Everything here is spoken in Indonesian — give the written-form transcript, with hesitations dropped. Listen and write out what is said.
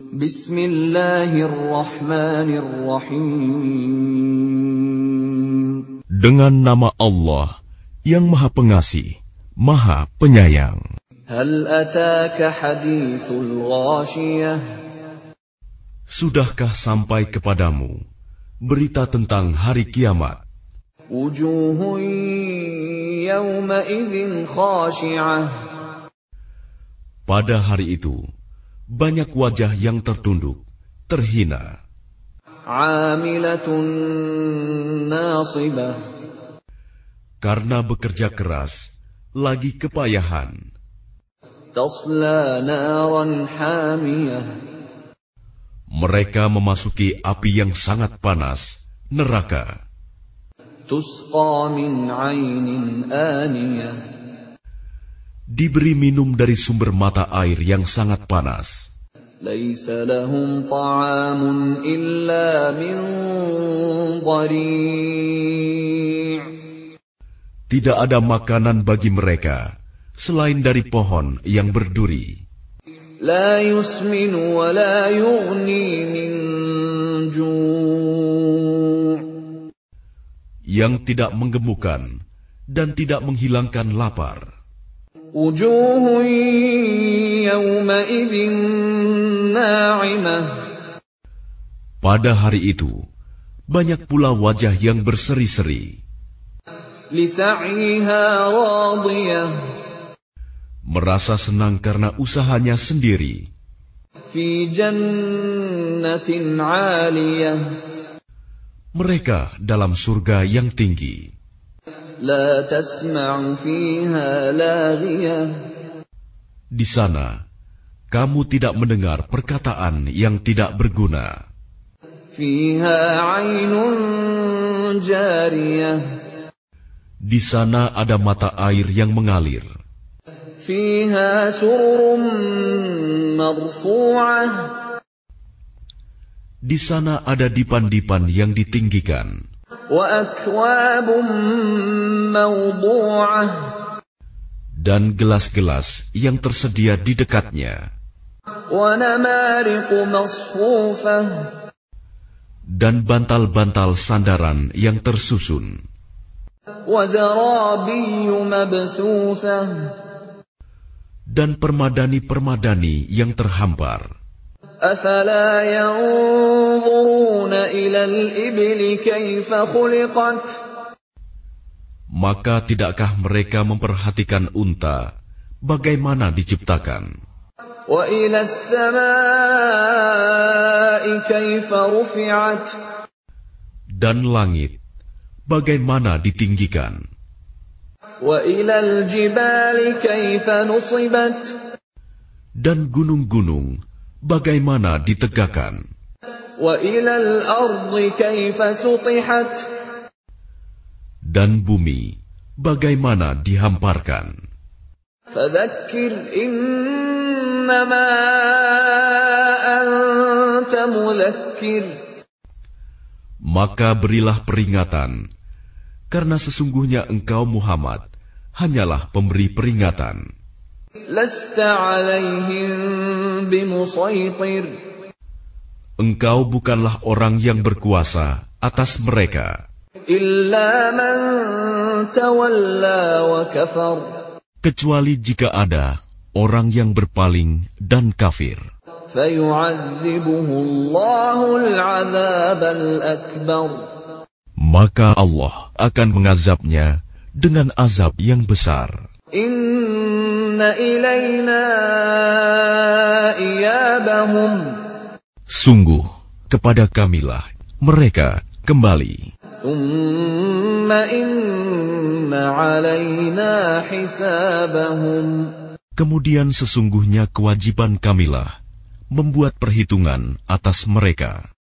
Bismillahirrahmanirrahim. Dengan nama Allah yang Maha Pengasih, Maha Penyayang. Hal ataka hadithul ghashiyah. Sudahkah sampai kepadamu berita tentang hari kiamat? Wujuhun yawma idzin khashi'ah. Pada hari itu banyak wajah yang tertunduk, terhina. Amilatun nasibah. Karena bekerja keras, lagi kepayahan. Tasla naran hamiyah. Mereka memasuki api yang sangat panas, neraka. Tusqa min 'ainin aniyah. Diberi minum dari sumber mata air yang sangat panas. Laisa lahum ta'amun illa min dhari'. Tidak ada makanan bagi mereka selain dari pohon yang berduri. La yusminu wa la yughni min ju'. Yang tidak menggemukkan dan tidak menghilangkan lapar. Wujuhun yawma idzin na'imah. Pada hari itu banyak pula wajah yang berseri-seri. Li sa'yiha radiyah. Merasa senang karena usahanya sendiri. Fi jannatin 'aliyah. Mereka dalam surga yang tinggi. La tasma'u fiha laghiyah. Di sana kamu tidak mendengar perkataan yang tidak berguna. Fiha 'ainun jariyah. Di sana ada mata air yang mengalir. Fiha sururun marfu'ah. Di sana ada dipan-dipan yang ditinggikan. Wa akwabun mawdu'ah. Dan gelas-gelas yang tersedia di dekatnya. Wa namariqu masfufah. Dan bantal-bantal sandaran yang tersusun. Wa zarabiyyu mabthufah. Dan permadani-permadani yang terhampar. Afala yanzuruna ila al-ibli kaifa khuliqat. Maka tidakkah mereka memperhatikan unta bagaimana diciptakan? Wa ila as-samaa'i kaifa rufi'at. Dan langit bagaimana ditinggikan? Wa ila al-jibali kaifa nusibat. Dan gunung-gunung bagaimana ditegakkan? Wa ila al-ardi kaifa sutihat. Dan bumi bagaimana dihamparkan? Fadzakkir innama anta mudzakkir. Maka berilah peringatan, karena sesungguhnya engkau Muhammad hanyalah pemberi peringatan. Lasta 'alaihim bimusaitir. Engkau bukanlah orang yang berkuasa atas mereka. Illa man tawalla wa kafar. Kecuali jika ada orang yang berpaling dan kafir. Fayu'adzibuhu Allahu al-'adzab al-akbar. Maka Allah akan mengazabnya dengan azab yang besar. Inna ilayna iyabahum. Sungguh kepada kamilah mereka kembali. Thumma inna alayna hisabahum. Kemudian sesungguhnya kewajiban kamilah membuat perhitungan atas mereka.